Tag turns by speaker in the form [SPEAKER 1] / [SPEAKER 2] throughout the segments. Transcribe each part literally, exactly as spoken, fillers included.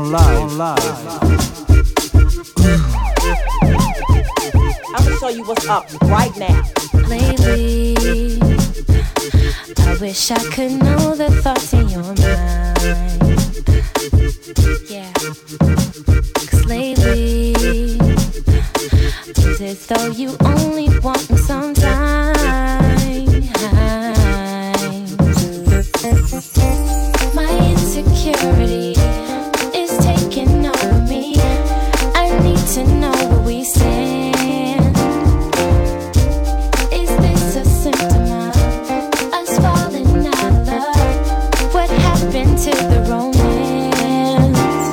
[SPEAKER 1] on live. On live.
[SPEAKER 2] I'm gonna show you what's up right now.
[SPEAKER 3] Lately, I wish I could know the thoughts in your mind. Yeah. Cause lately, it's as though you only want me sometimes. My insecurity is taking over me. I need to know where we stand. Is this a symptom of us falling out of love? What happened to the romance?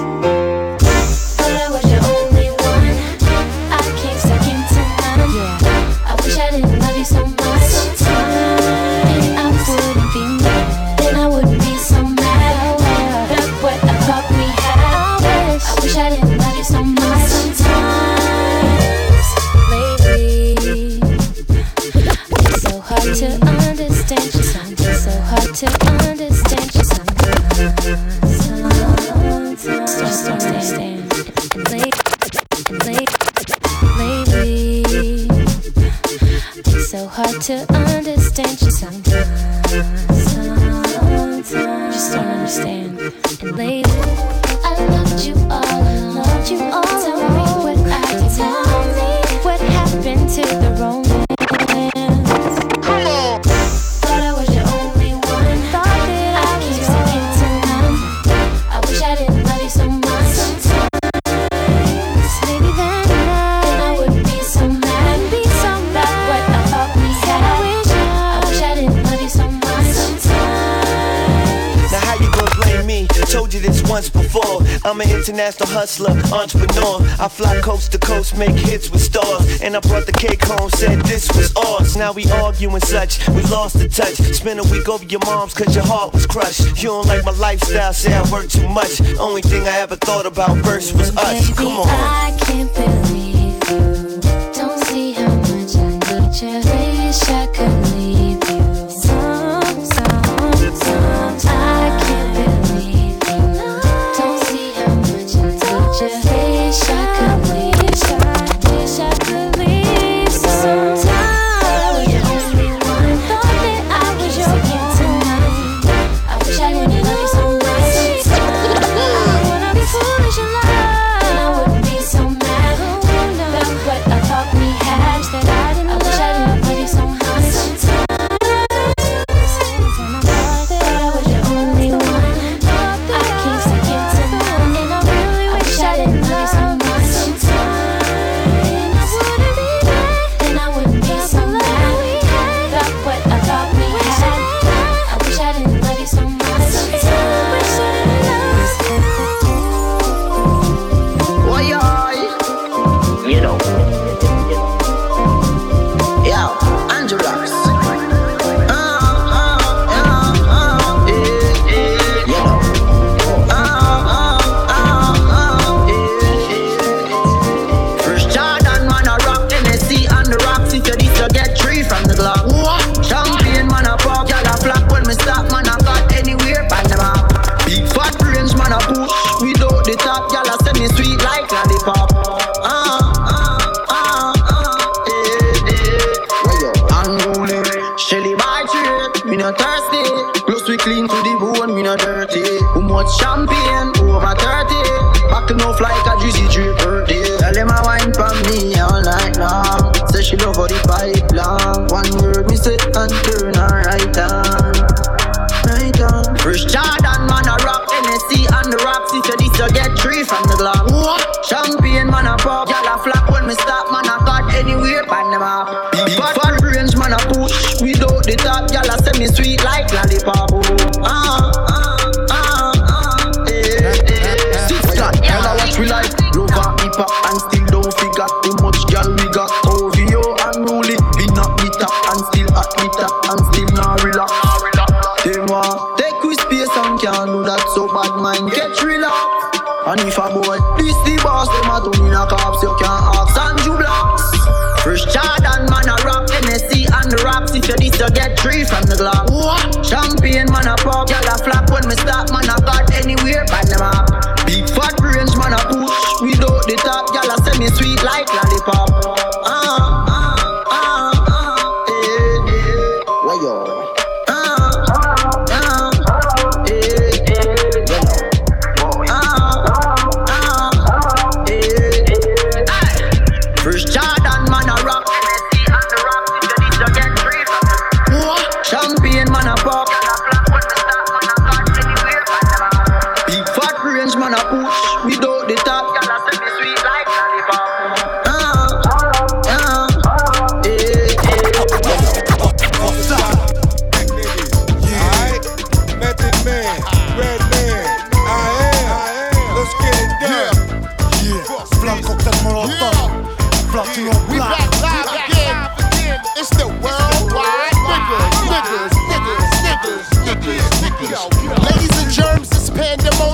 [SPEAKER 3] Thought I was your only one. I came second to none. Yeah. I wish I didn't love you so much. And I wouldn't be mad. Then I wouldn't be so mad. Look what I thought we had. I wish I didn't love you so much. Sometimes lately, it's so hard to understand you. Sometimes so hard to understand you. Sometimes, sometimes just don't understand. And late, late, lately, it's so hard to understand you. Sometimes, sometimes just don't understand. And lately, I loved you all along. Loved you all Tell along. me what I did. Tell me what happened to the romance.
[SPEAKER 4] Come on.
[SPEAKER 3] Thought I was your only one. Thought that I came second to none. I wish I didn't love you so much. Sometimes, maybe then I, then I wouldn't be so mad. Be so mad. About what I thought we had. I wish I, I wish I didn't love you so much. Sometimes.
[SPEAKER 5] Now how you gonna blame me? Told you this once before. I'm an international hustler, entrepreneur. I fly coast to coast, make hits with stars. And I brought the cake home, said this was ours. Now we argue and such, we lost the touch. Spent a week over your mom's cause your heart was crushed. You don't like my lifestyle, say I work too much. Only thing I ever thought about first was us.
[SPEAKER 3] Baby,
[SPEAKER 5] Come on.
[SPEAKER 3] I can't believe you. Don't see how much I need you. Wish I could leave you. Some, some, some. I can't believe you. Don't see how much I need you. Wish I could leave. Wish I could leave. Sometimes I was your only one. Thought that I was your second to none. I wish I didn't love you so much. I wanna be foolish in love. Then I wouldn't be so mad. About what I thought we had. That I didn't I wish I didn't love you so much. Thought I was your only one. I came second to none. And I really wish I didn't love you so much. And I wouldn't be mad. Then I wouldn't be so mad. About what I thought we had. I wish I didn't love you so much. Wish I didn't love you.
[SPEAKER 4] Why you know. Yo, Angela's. Uh, uh, uh, uh, yeah, yeah, you know. Uh, uh, uh, uh, yeah, yeah. First Jordan, man, a rock Tennessee on the rocks. If you this, you get three from the Glock. Champion, man, a pop, y'all a flock. When me stop, man, I got anywhere by the map. Big fat range, man, a push. Without the top, y'all a send me sweet like lollipop. Uh, uh, uh, uh, yeah, yeah. Unruly, Shelly by trade, me not thirsty. Close we clean to the bone, me not dirty. Who much champagne, over thirty. Back enough like a juicy tree birthday. Tell them I wine for me all night long. Say she love how the pipe long. One word me say and turn her right on. Right on. First Jordan, man, a rock Tennessee on the rocks. If you this, you get three from the Glock. Champion, man, a pop. Y'all a flock when me stop, man, I got anywhere by the map. Big fat range, man, a push. Without the top, y'all a send me sweet like lollipop. Ah, ah, ah, ah, eh, eh. Six gun, y'all a watch we like. Love and hip hop and still don't figure. Too much girl we got. O V O and Rolly. We not meet up and still at meet up and still not relax. They want take with space and can't do that, so bad mind get relaxed. And if a boy this the boss, them a turn in a cops, you can't ask Andrew Blocks. First Jordan, man, a rock Tennessee on the rocks. If you this, you get three from the Glock. Champion, man, a pop, y'all a flap when me stop, man, I got anywhere by the map. Big fat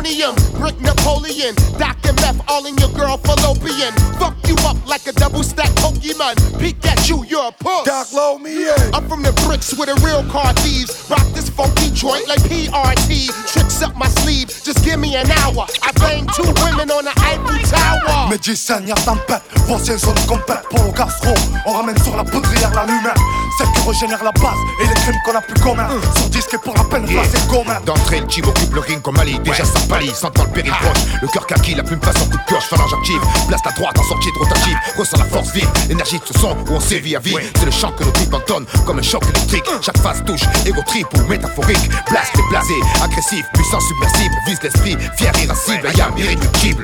[SPEAKER 1] plutonium, brick Napoleon, Doc and meth all in your girl fallopian. Fuck you up like a double stack Pokemon. Peek at you, you're a puss.
[SPEAKER 6] Doc, low me in.
[SPEAKER 1] I'm from the bricks with a real car thieves. Rock this funky joint like P R T. Tricks up my sleeve, just give me an hour. I banged two women on the Eiffel Tower.
[SPEAKER 6] Médicien, y'a tempête, voici une zone complète pour nos gastro. On ramène sur la poudrière la lumière, celle qui régénère la base et les crimes qu'on a plus communs. Sur disque et pour la peine, yeah. C'est gourmet.
[SPEAKER 7] D'entrée, le team occupe le ring comme Ali. Déjà ça pâlit, sentant le péril proche. Le cœur kaki, la plume passe en coup de pioche. Phalange active, place la droite en sortie de rotative. Ressent la force vive, l'énergie de ce son où on sévit à vie. C'est le chant que nos tripes entonnent comme un choc électrique. Chaque phase touche, égo trip ou métaphorique. Blast et blasé, agressif, puissant, submersible. Vise l'esprit, fier, irascible, ayam, irréductible.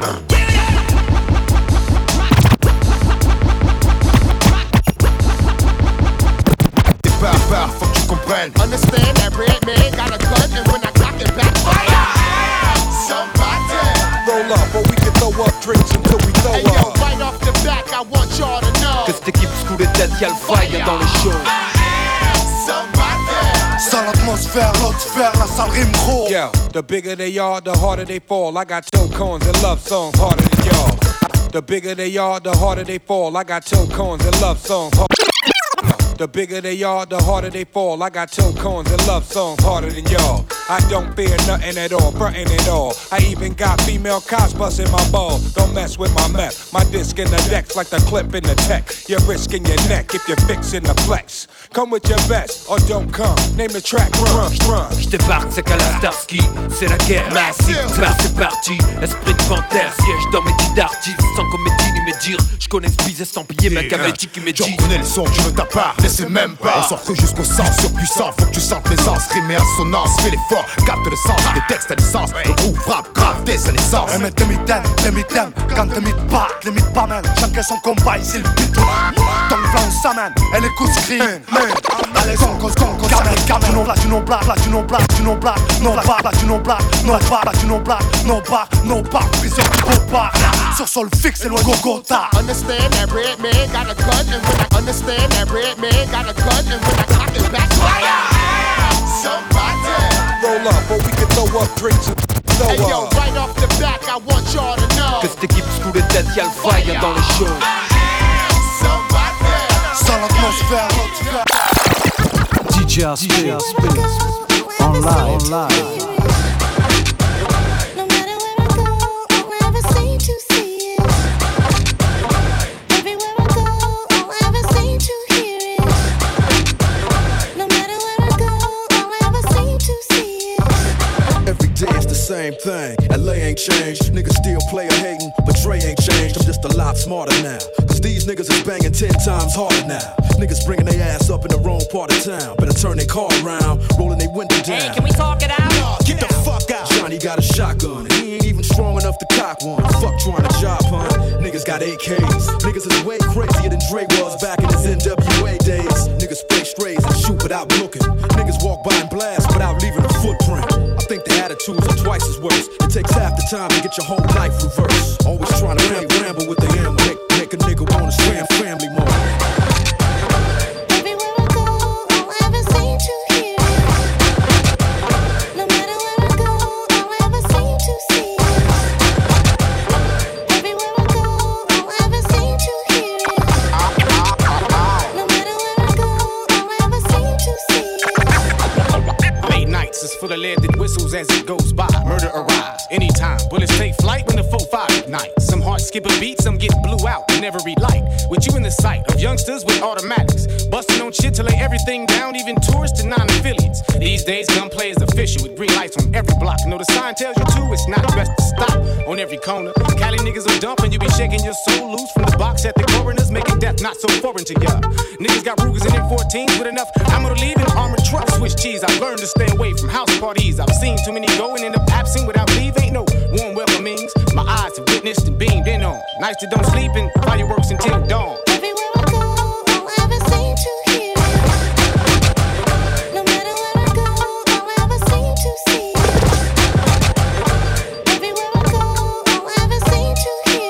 [SPEAKER 7] Par, par, faut que tu comprennes.
[SPEAKER 1] Understand that red man got a gun and when I cock it back, fire! Somebody!
[SPEAKER 6] Roll up, or we can throw up drinks until we throw
[SPEAKER 1] hey, yo,
[SPEAKER 6] up.
[SPEAKER 1] right off the back, I want y'all to know
[SPEAKER 5] que cette équipe sous les têtes, y'a le fire dans les shows.
[SPEAKER 1] Somebody!
[SPEAKER 6] Sans l'atmosphère, l'autre sphère, la salle rime gros.
[SPEAKER 8] Yeah, the bigger they are, the harder they fall. I got toe cones and love songs harder than y'all. The bigger they are, the harder they fall. I got toe cones and love songs harder. The bigger they are, the harder they fall. I got toe cones and love songs harder than y'all. I don't fear nothing at all, frontin' at all. I even got female cops busting my ball. Don't mess with my meth. My disc in the decks like the clip in the tech. You're risking your neck if you're fixing the flex. Come with your best or don't come. Name the track, run, run.
[SPEAKER 5] J'débarque, c'est qu'à la Starsky. C'est la guerre massive, bah c'est parti. Esprit de panthère, siège dans mes dix d'artistes. Sans comédie ni médire. J'connais ce bise estampillé, ma gamétique qui médit.
[SPEAKER 7] J'en connais le son, tu ne t'as pas. C'est même pas. On s'offre jusqu'au sens surpuissant. Faut que tu sentes l'aisance, rime et assonance. Fais l'effort, capte le sens. Les textes à l'essence. Le groupe frappe grave dès sa naissance.
[SPEAKER 6] Un mètre demi-thème, demi-thème. Quand demi de part, les mythes pas mal. Chacun son combat, ici le beat. Dans le plan, on s'amène. Elle écoute scream. Allez, con, con, con, camel, camel. Tu non blague, tu non blague, tu non blague, tu non blague. Non blague, tu non blague, non blague, tu non blague. Non blague, non blague, prison, gros bar. Sur sol fixe, c'est loin, Gogota.
[SPEAKER 1] Understand that red man got a gun and when I understand that red man got a gun and when I cock it back, fire! Somebody!
[SPEAKER 6] Roll up, or we can throw up drinks and throw
[SPEAKER 1] hey, yo,
[SPEAKER 6] up.
[SPEAKER 1] right off the back, I want y'all to know
[SPEAKER 5] que cette équipe sous les têtes, y'a le fire dans les shows.
[SPEAKER 1] Somebody!
[SPEAKER 6] Sans l'atmosphère,
[SPEAKER 9] D J Spins, on live, on live.
[SPEAKER 3] No matter where I go, I'll ever seem to see it. Everywhere I go, I'll ever seem to hear it. No matter where I go, I'll ever seem to see it.
[SPEAKER 10] Every day it's the same thing. L A ain't changed. Niggas still play a hating, but Dre ain't changed. I'm just a lot smarter now. Cause these niggas is banging ten times harder now. Niggas bringing their ass up in the wrong part of town. Better turn their car around, rolling their window down.
[SPEAKER 2] Hey, can we talk it out?
[SPEAKER 10] Nah, get the fuck out. Johnny got a shotgun, and he ain't even strong enough to cock one. Fuck trying to job hunt. Niggas got A Ks. Niggas is way crazier than Dre was back in his N W A days. Niggas spray strays and shoot without looking. Niggas walk by and blast without leaving a footprint. I think the attitudes are twice as worse. It takes half the time to get your whole life reversed. Always trying to play ramble with the ammo. Make, make a nigga wanna slam family mode.
[SPEAKER 3] Everywhere I go, I'll ever seem to hear it. No matter where I go, I'll ever seem to see it. Everywhere I go, I'll ever seem to hear it. No matter where I go, I'll ever seem to see it.
[SPEAKER 11] Late nights is full of lead that whistles as it goes by. Murder arrives anytime. Bullets take flight when the four five ignites. Some hearts skip a beat, some get blew out and never relight. With you in the sight of youngsters with automatics, busting on shit to lay everything down, even tourists to non-affiliates. These days, gunplay is official with green lights on every block. Know the sign tells you to, it's not best to stop on every corner. Cali niggas will dump and you be shaking your soul loose from the box at the coroners, making death not so foreign to ya. Niggas got Rugers and M fourteens with enough ammo to leave in armored trucks. Swiss cheese, I've learned to stay away from house parties. I've seen too many go and end up absent without leave. Ain't no warm welcomings. My eyes have witnessed and beamed in on. Nights that don't sleep and fireworks until dawn.
[SPEAKER 3] Everywhere I go, I'll ever seem to hear it. No matter where I go, I'll ever seem to see it. Everywhere I go, I'll ever seem to hear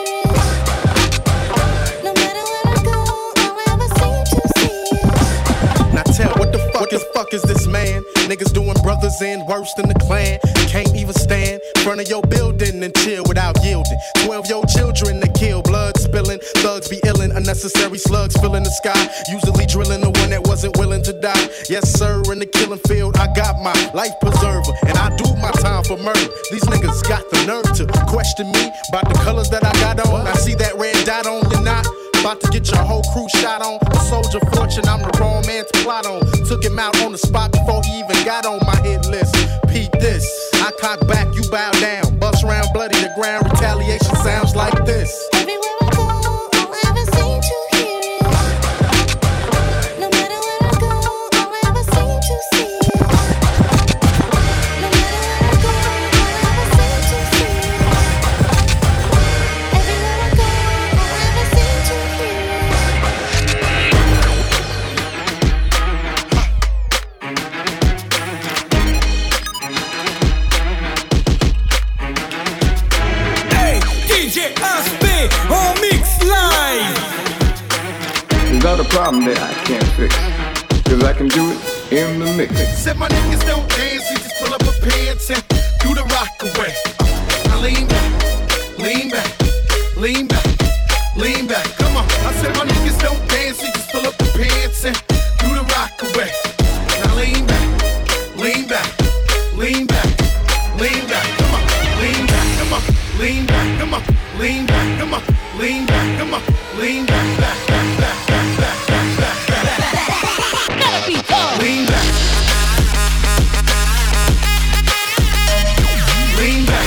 [SPEAKER 3] it. No matter where I go, I'll ever seem to see it.
[SPEAKER 10] Now tell what the fuck, what the fuck fuck is this man? Niggas doing brothers in worse than the clan. Can't even stand in front of your building and chill without yielding. Twelve-year-old children that kill, blood spilling. Thugs be illin', unnecessary slugs filling the sky. Usually drilling the one that wasn't willing to die. Yes, sir, in the killing field, I got my life preserver. And I do my time for murder. These niggas got the nerve to question me about the colors that I got on. I see that red dot on your knot. About to get your whole crew shot on. A soldier fortune, I'm the wrong man to plot on. Took him out on the spot before he even got on my hit list. Peep this, I cock back, you bow down. Bust round bloody, the ground retaliation sounds like this.
[SPEAKER 3] Everywhere I go, all I ever seem to hear it. No matter where I go, all I ever seem to see it. No matter where I go, all I ever seem to see it. Everywhere I go, all I ever seem to hear
[SPEAKER 12] Hey, D J Aspé on mix live.
[SPEAKER 13] There's not a problem that I can't fix, cause I can do it in the mix.
[SPEAKER 1] Said my niggas don't dance, you just pull up a pants and do the rock away. Now lean back, lean back, lean back, lean back. Come on. I said my niggas don't dance, you just pull up the pants and do the rock away. Now lean back, lean back, lean back, lean back. Come on, lean back, come on, lean back, come on, lean back, come on, lean back, come on, lean back, back, back, back, back, back, back, back, back. Gotta be tough. Lean back. Lean back.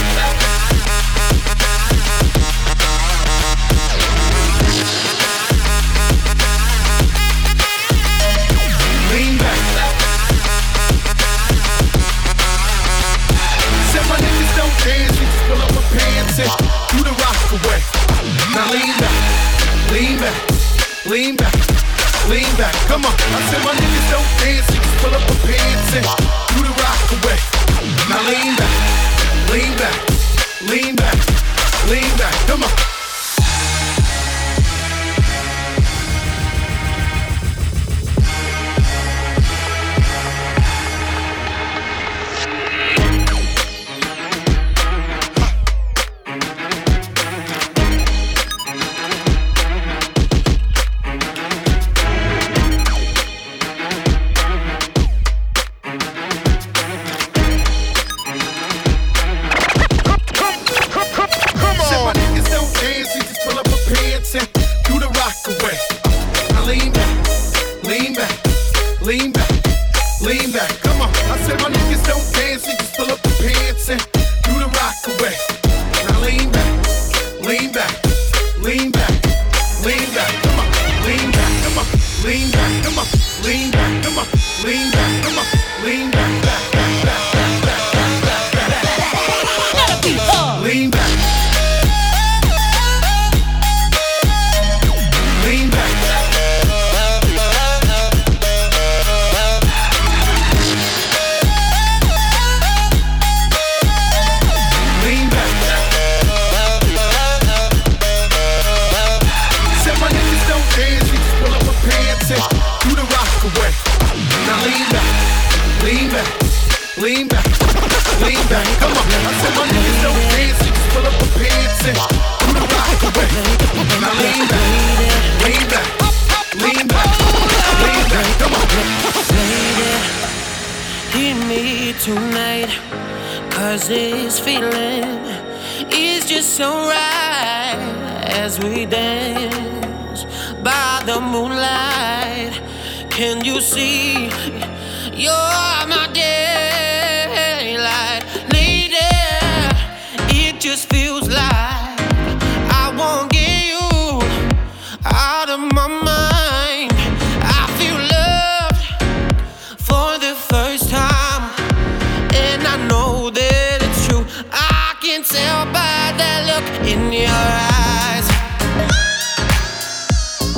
[SPEAKER 1] Lean back. Said my niggas don't dance, we just pull up my pants and do the rock away. Now lean back, lean back, lean back, lean back. Come on. I said my niggas don't dance, we just pull up my pants and do the rock away. Now lean back, lean back, lean back, lean back. Come on.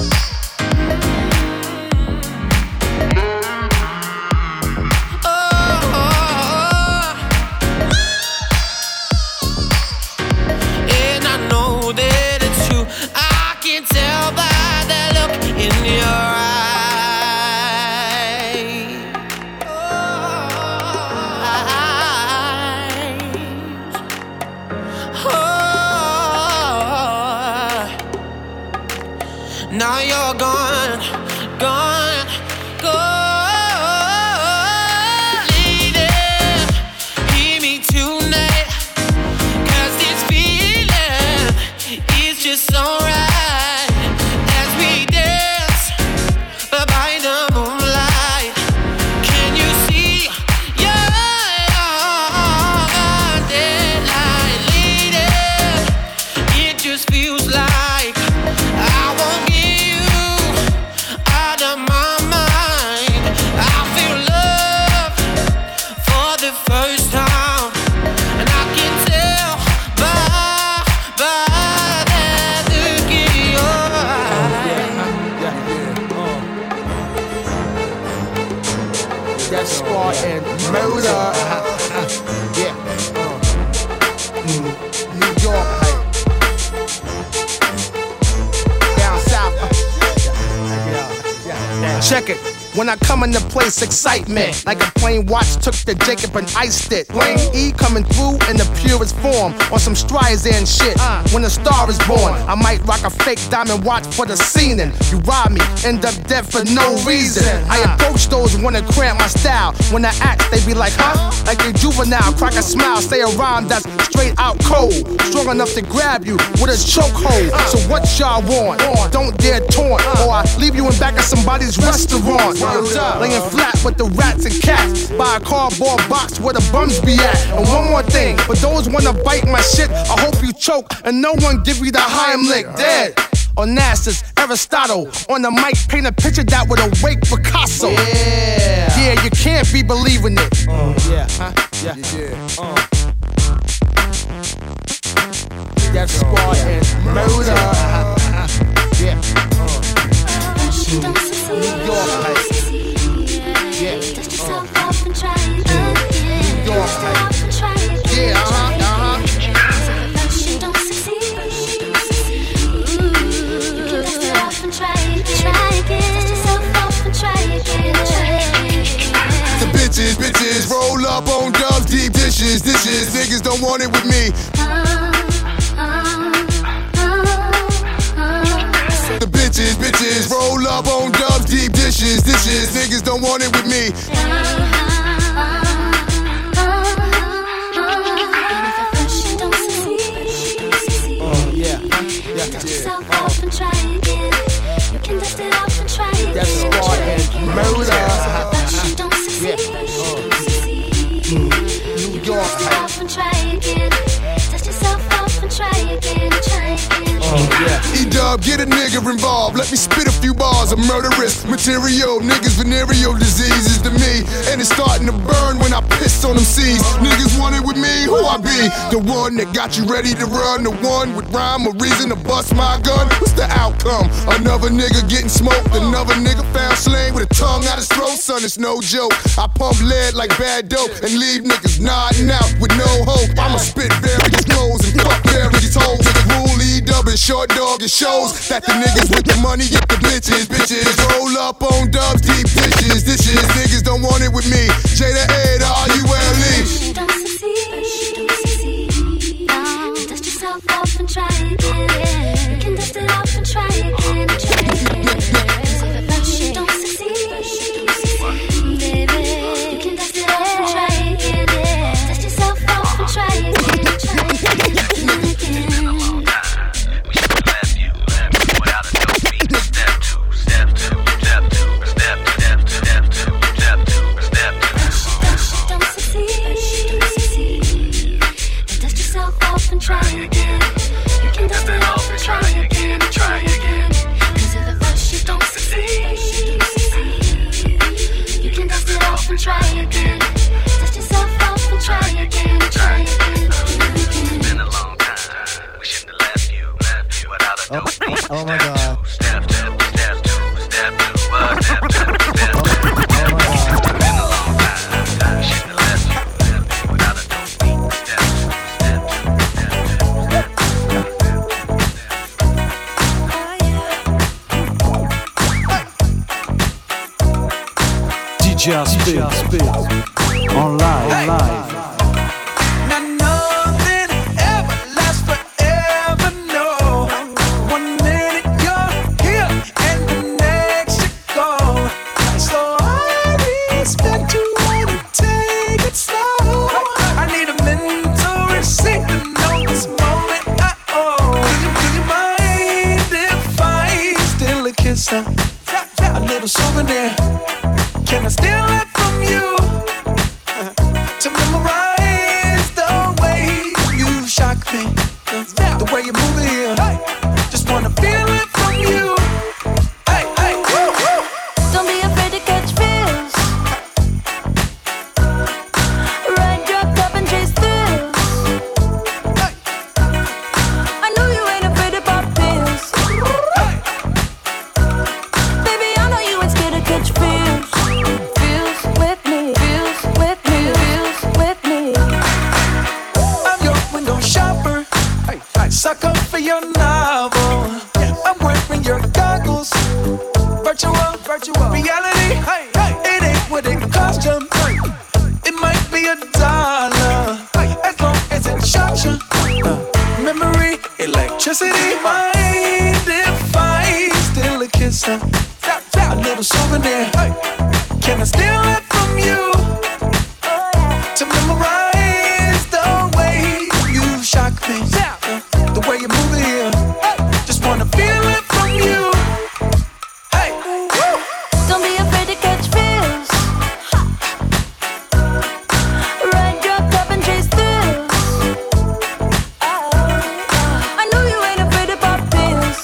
[SPEAKER 3] oh.
[SPEAKER 14] gone, gone. Lady, hear me tonight, 'cause this feeling is just so right. As we dance by the moonlight, can you see your deadline? Lady, it just feels like I won't get you out of my mind. I feel love for the first time, and I can tell by, by that look in your eye.
[SPEAKER 15] Death Squad and Murder. Yeah. Mm. New York. Down south. Check it. When I come in the place, excitement. Like a plain watch took the Jacob and iced it. Lane E coming through in the purest form. On some Streisand shit. When a star is born, I might rock a fake diamond watch for the scening. You rob me, end up dead for no reason. I approach those who wanna cramp my style. When I act, they be like, huh? Like a juvenile, crack a smile, say a rhyme that's straight out cold. Strong enough to grab you with a chokehold. So what y'all want? Don't dare taunt, or I leave you in back of somebody's restaurant. Laying flat with the rats and cats by a cardboard box where the bums be at. And one more thing, for those wanna bite my shit, I hope you choke and no one give you the Heimlich. Dead. Onassis, Aristotle, on the mic, paint a picture that would awake Picasso. Yeah, yeah, you can't be believing it. Uh, yeah, huh? Yeah, yeah. Uh. Death Squad and Murder. Yeah. Uh. New York, like. Yeah. Dust yourself off and try it again. New York, like. Yeah, uh huh, uh huh. You don't succeed. You can dust it off and try it, try again. Dust yourself off and try again, try again.
[SPEAKER 7] The bitches, bitches, roll up on dubs, deep dishes, dishes. Niggas don't want it with me. The bitches, bitches, roll up on dubs, deep dishes, dishes. Niggas don't want it with me.
[SPEAKER 15] Oh yeah, yeah.
[SPEAKER 3] Dust yourself off and try again. You can dust it off and try again.
[SPEAKER 15] Death Squad and Murder.
[SPEAKER 3] Yeah.
[SPEAKER 15] New York.
[SPEAKER 3] Dust it off and try again. Dust yourself off and try again, try again.
[SPEAKER 15] Oh yeah.
[SPEAKER 7] E-Dub, get a nigga involved. Let me spit a few bars of murderous material. Niggas venereal diseases to me, and it's starting to burn when I piss on them seeds. Niggas want it with me, who I be? The one that got you ready to run, the one with rhyme or reason to bust my gun. What's the outcome? Another nigga getting smoked, another nigga found slain with a tongue out his throat. Son, it's no joke. I pump lead like bad dope and leave niggas nodding out with no hope. I'ma spit various flows and fuck various hoes. Rule E-Dub and Short Dog, it shows that the niggas with the money get the bitches. Bitches roll up on dubs, deep dishes, dishes. Niggas don't want it with me. J to A to R U L E.
[SPEAKER 3] You don't succeed. No. Dust yourself off and try again. You can dust it off and try again, try again. You don't succeed, baby. You can dust it off and try again. Dust yourself off and try again, try again, try again. Try again. You can dust it off and try again, try again. Cause at the first you don't succeed. You can dust it off and try again. Dust yourself off and try again, try again.
[SPEAKER 16] It's been a long time. We shouldn't have left you, left you without a dope beat.
[SPEAKER 15] Oh my god.
[SPEAKER 16] Step two, step two, step two, uh, step two, step two, step two. It's been a long time. We shouldn't have left you, left you without a dope beat. Step two, step two.
[SPEAKER 9] D J Spin, Spin, en live, en live.
[SPEAKER 12] Now nothing ever lasts forever, no. One minute you're here and the next you're gone. souvenir. Can I steal it from you? To memorize the way you shock me, the way you move it here. Just wanna feel it from you. Hey, hey, woo, woo.
[SPEAKER 3] Don't be afraid to catch feels. Ride your cup and chase thrills. I know you ain't afraid to pop pills. Baby, I know you ain't scared to catch feels. Feels with me, feels with me, feels with me.
[SPEAKER 12] I'm your window shopper, sucker for your novel. I'm wearing your goggles. Virtual, virtual reality. It ain't what it cost you. It might be a dollar, as long as it shocks you. Memory, electricity. Mind if I steal a kiss? uh, A little souvenir. Can I steal it from you? To memorize the way you shock me, the way you move it here. Just wanna feel it from you. Hey, woo.
[SPEAKER 3] Don't be afraid to catch feels. Ride your cup and chase thrills. I know you ain't afraid to pop pills.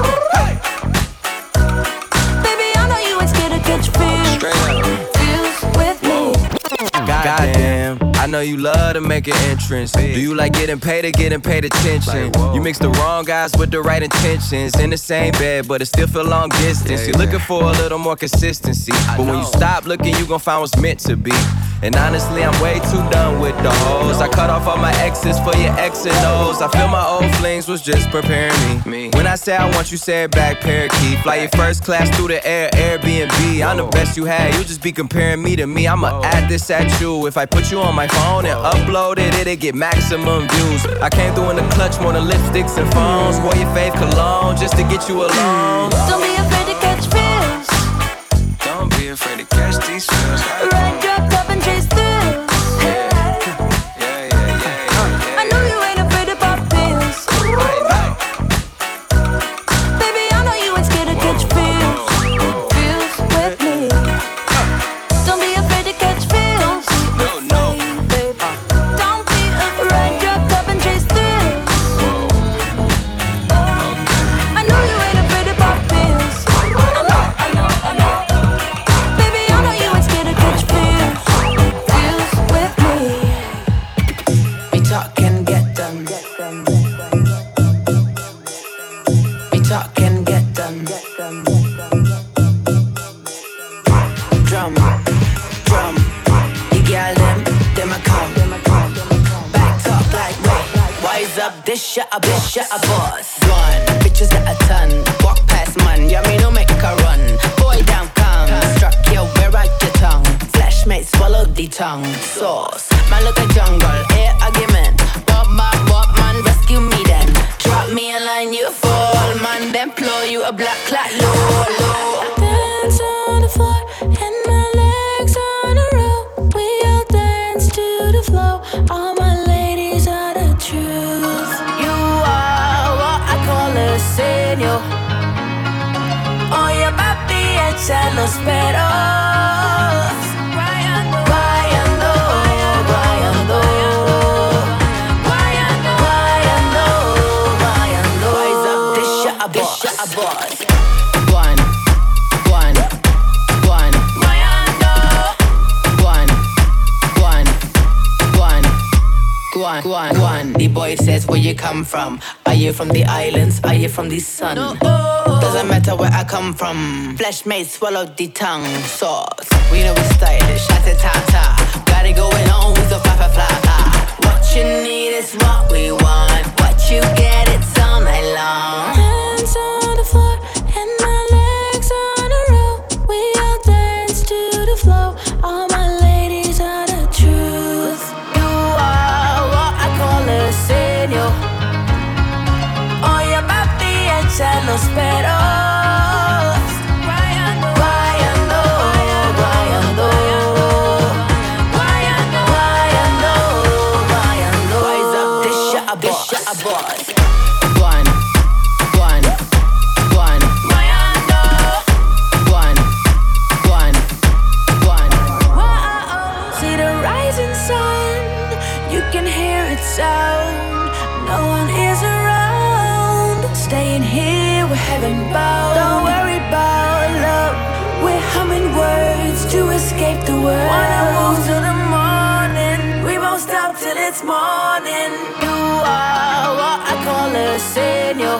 [SPEAKER 3] Baby, I know you ain't scared to catch feels. Feels with me.
[SPEAKER 17] Goddamn, I know you love to make an entrance. Do you like getting paid or getting paid attention? You mix the wrong guys with the right intentions. In the same bed, but it still feel long distance. You're looking for a little more consistency. But when you stop looking, you gon' find what's meant to be. And honestly, I'm way too done with the hoes. I cut off all my exes for your X and O's. I feel my old flings was just preparing me. When I say I want you, say it back, parakeet. Fly your first class through the air, Airbnb. I'm the best you had, you just be comparing me to me. I'ma add this at you. If I put you on my phone and upload it, it'll get maximum views. I came through in the clutch more than lipsticks and phones. Wore your fave cologne just to get you alone.
[SPEAKER 3] Don't be afraid to catch feels.
[SPEAKER 17] Don't be afraid to catch these feels.
[SPEAKER 3] Ride your cup and chase thrills. I know you ain't afraid to pop pills. Baby, I know you ain't scared to catch feels. Feels with me. Don't be afraid to catch feels.
[SPEAKER 17] No, no.
[SPEAKER 3] Don't be afraid. Ride your cup and chase thrills. I know you ain't afraid to pop pills. I know, I know, I know. Baby, I know you ain't scared to catch feels. Feels with me.
[SPEAKER 18] We talk and get done. We talk and get done. Drum, drum. The girl them, them a come. Back talk like me. Wise up, this shit a bitch, shit a boss. Gone, bitches got a ton. Walk past man, yeah me no make a run. Boy down come, struck you where out your tongue. Flashmate swallow the tongue. Sauce, man look a jungle, air argument. Bob man, bob man, rescue me then. Drop me a line, you fall man. Then blow you a black clock, low, low.
[SPEAKER 3] Dance on the floor and my legs on a roll. We all dance to the flow. All my ladies are the truth.
[SPEAKER 18] You are what I call a señor.
[SPEAKER 3] Oye papi, echa los peros.
[SPEAKER 18] Guayando, guayando, guayando, guayando. Wise up, this shit a boss, this shit a boss. One, one, one. Guayando. One, one, one. Guan, guan, guan. The boy says, where you come from? Are you from the islands? Are you from the sun? No. Doesn't matter where I come from. Flesh made swallow the tongue. Sauce. We know we stylish. Ta-ta-ta-ta. Got it going on with the fa-fa-fla-fa. What you need is what we want. What you get, it's all night long.
[SPEAKER 3] Hands on the floor and my legs on a roll. We all dance to the flow. All my ladies are the truth.
[SPEAKER 18] You are what I call a señor.
[SPEAKER 3] Oye papi, echa los peros.
[SPEAKER 18] Guayando, guayando, guayando, guayando, guayando. Wise up, this shit a boss, this shit a boss. One, one, one. Guayando. One,
[SPEAKER 19] this morning. You are what I call a señor.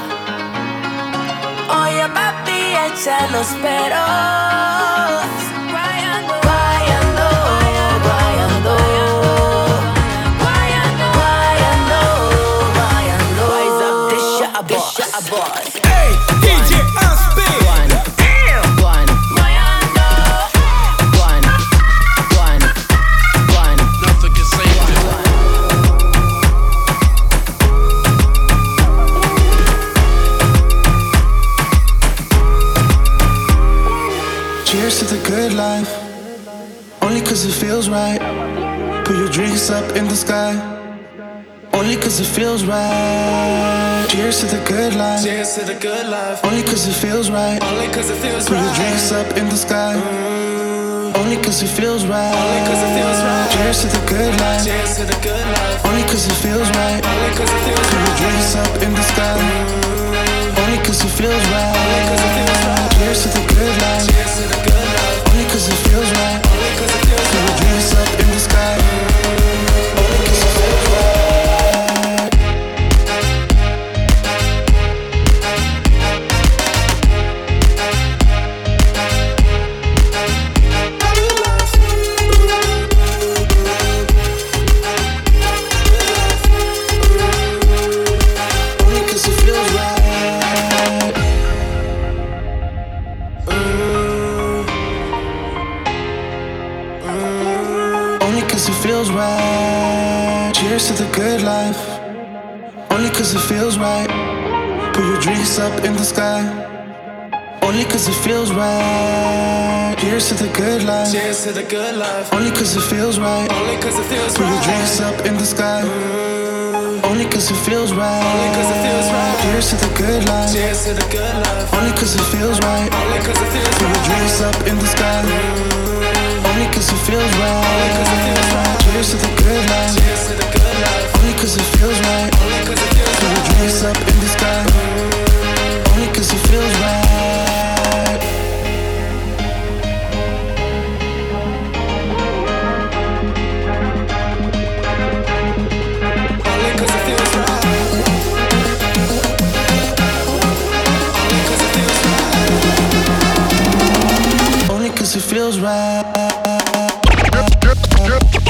[SPEAKER 19] Oye papi, échalos peros. Guayando, guayando, guayando, guayando, guayando, guayando. Rise up, this shit a boss, this shit a boss.
[SPEAKER 12] Hey, D J Unspin.
[SPEAKER 19] Damn.
[SPEAKER 18] One,
[SPEAKER 19] Guayando.
[SPEAKER 18] one, one, one.
[SPEAKER 12] Nothing can save it.
[SPEAKER 20] Cheers to the good life, only cause it feels right. Put your drinks up in the sky, only cause it feels right. Cheers to the good life,
[SPEAKER 12] Cheers to the good life.
[SPEAKER 20] only cause it feels right.
[SPEAKER 12] Only cause it feels
[SPEAKER 20] Put
[SPEAKER 12] right.
[SPEAKER 20] your drinks up in the sky, only cause it feels right.
[SPEAKER 12] Only cause it feels right.
[SPEAKER 20] Cheers to the good life,
[SPEAKER 12] Cheers to the good life.
[SPEAKER 20] only cause it feels right.
[SPEAKER 12] Only cause it feels
[SPEAKER 20] Put your
[SPEAKER 12] right.
[SPEAKER 20] drinks up in the sky, only cause it feels right.
[SPEAKER 12] Only cause it feels right.
[SPEAKER 20] Cheers to the good life,
[SPEAKER 12] Cheers to the good life.
[SPEAKER 20] only cause it feels right.
[SPEAKER 12] Only cause it feels
[SPEAKER 20] Put your
[SPEAKER 12] right.
[SPEAKER 20] drinks up in the sky, only cause it feels right. Only cause it feels right. Only cause it feels right. Cheers to the good life, only cause it feels right. Put your drinks up in the sky, only cause it feels right. Cheers to the good life,
[SPEAKER 12] Cheers to the good life.
[SPEAKER 20] only cause it feels right.
[SPEAKER 12] Only cause it feels
[SPEAKER 20] Put your drinks
[SPEAKER 12] right.
[SPEAKER 20] up in the sky, only cause it feels right.
[SPEAKER 12] Only cause it feels right.
[SPEAKER 20] Cheers to the good life,
[SPEAKER 12] Cheers to the good life.
[SPEAKER 20] only cause it feels right.
[SPEAKER 12] Only cause it feels
[SPEAKER 20] Put your
[SPEAKER 12] right.
[SPEAKER 20] drinks up in the sky, only cause it feels
[SPEAKER 12] Only cause it feels
[SPEAKER 20] right.
[SPEAKER 12] right.
[SPEAKER 20] Cheers to the good life,
[SPEAKER 12] Cheers to the good life.
[SPEAKER 20] only cause it feels right.
[SPEAKER 12] Only cause it feels
[SPEAKER 20] Put your
[SPEAKER 12] right.
[SPEAKER 20] drinks up in the sky, only cause it feels right.
[SPEAKER 12] Only cause it feels right. Only cause it feels right.
[SPEAKER 20] Only cause it feels right.